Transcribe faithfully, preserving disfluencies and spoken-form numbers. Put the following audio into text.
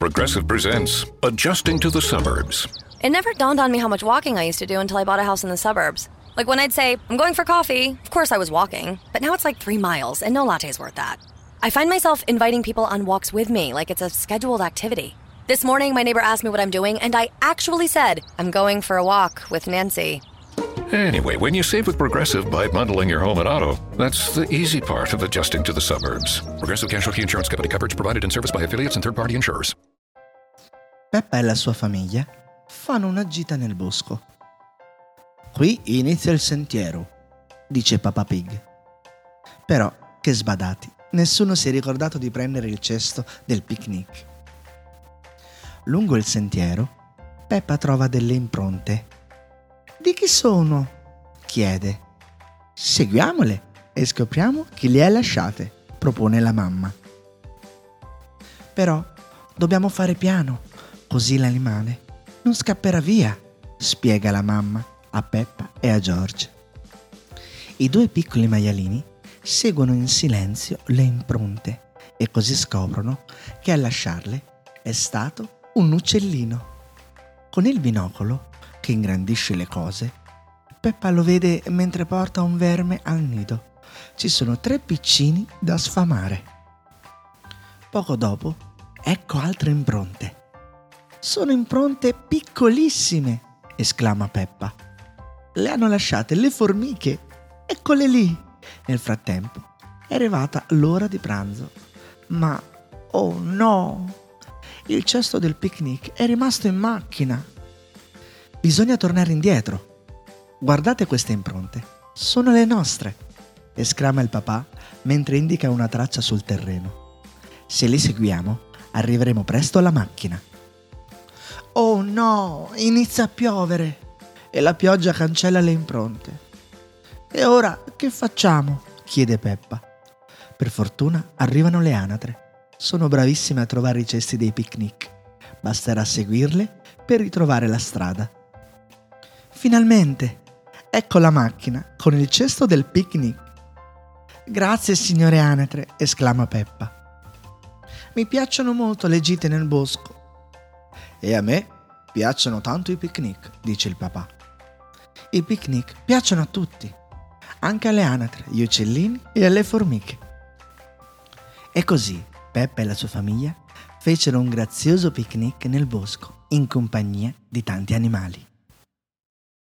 Progressive presents Adjusting to the Suburbs. It never dawned on me how much walking I used to do until I bought a house in the suburbs. Like when I'd say, I'm going for coffee, of course I was walking, but now it's like three miles and no latte's worth that. I find myself inviting people on walks with me like it's a scheduled activity. This morning, my neighbor asked me what I'm doing, and I actually said, I'm going for a walk with Nancy. Anyway, when you save with Progressive by bundling your home and auto, that's the easy part of adjusting to the suburbs. Progressive Casualty Insurance Company, coverage provided in service by affiliates and third-party insurers. Peppa e la sua famiglia fanno una gita nel bosco. Qui inizia il sentiero, dice Peppa Pig. Però, che sbadati, nessuno si è ricordato di prendere il cesto del picnic. Lungo il sentiero, Peppa trova delle impronte. Di chi sono? Chiede. Seguiamole e scopriamo chi le ha lasciate, propone la mamma. Però dobbiamo fare piano, così l'animale non scapperà via, spiega la mamma a Peppa e a George. I due piccoli maialini seguono in silenzio le impronte e così scoprono che a lasciarle è stato un uccellino. Con il binocolo, che ingrandisce le cose, Peppa lo vede mentre porta un verme al nido. Ci sono tre piccini da sfamare. Poco dopo, ecco altre impronte. Sono impronte piccolissime, esclama Peppa. Le hanno lasciate le formiche. Eccole lì. Nel frattempo è arrivata l'ora di pranzo. Ma, oh no! Il cesto del picnic è rimasto in macchina. Bisogna tornare indietro. Guardate queste impronte. Sono le nostre, esclama il papà mentre indica una traccia sul terreno. Se li seguiamo, arriveremo presto alla macchina. Oh no, inizia a piovere e la pioggia cancella le impronte. E ora che facciamo? Chiede Peppa. Per fortuna arrivano le anatre. Sono bravissime a trovare i cesti dei picnic. Basterà seguirle per ritrovare la strada. Finalmente! Ecco la macchina con il cesto del picnic. Grazie, signore anatre, esclama Peppa. Mi piacciono molto le gite nel bosco. E a me piacciono tanto i picnic, dice il papà. I picnic piacciono a tutti, anche alle anatre, agli uccellini e alle formiche. E così Peppa e la sua famiglia fecero un grazioso picnic nel bosco in compagnia di tanti animali.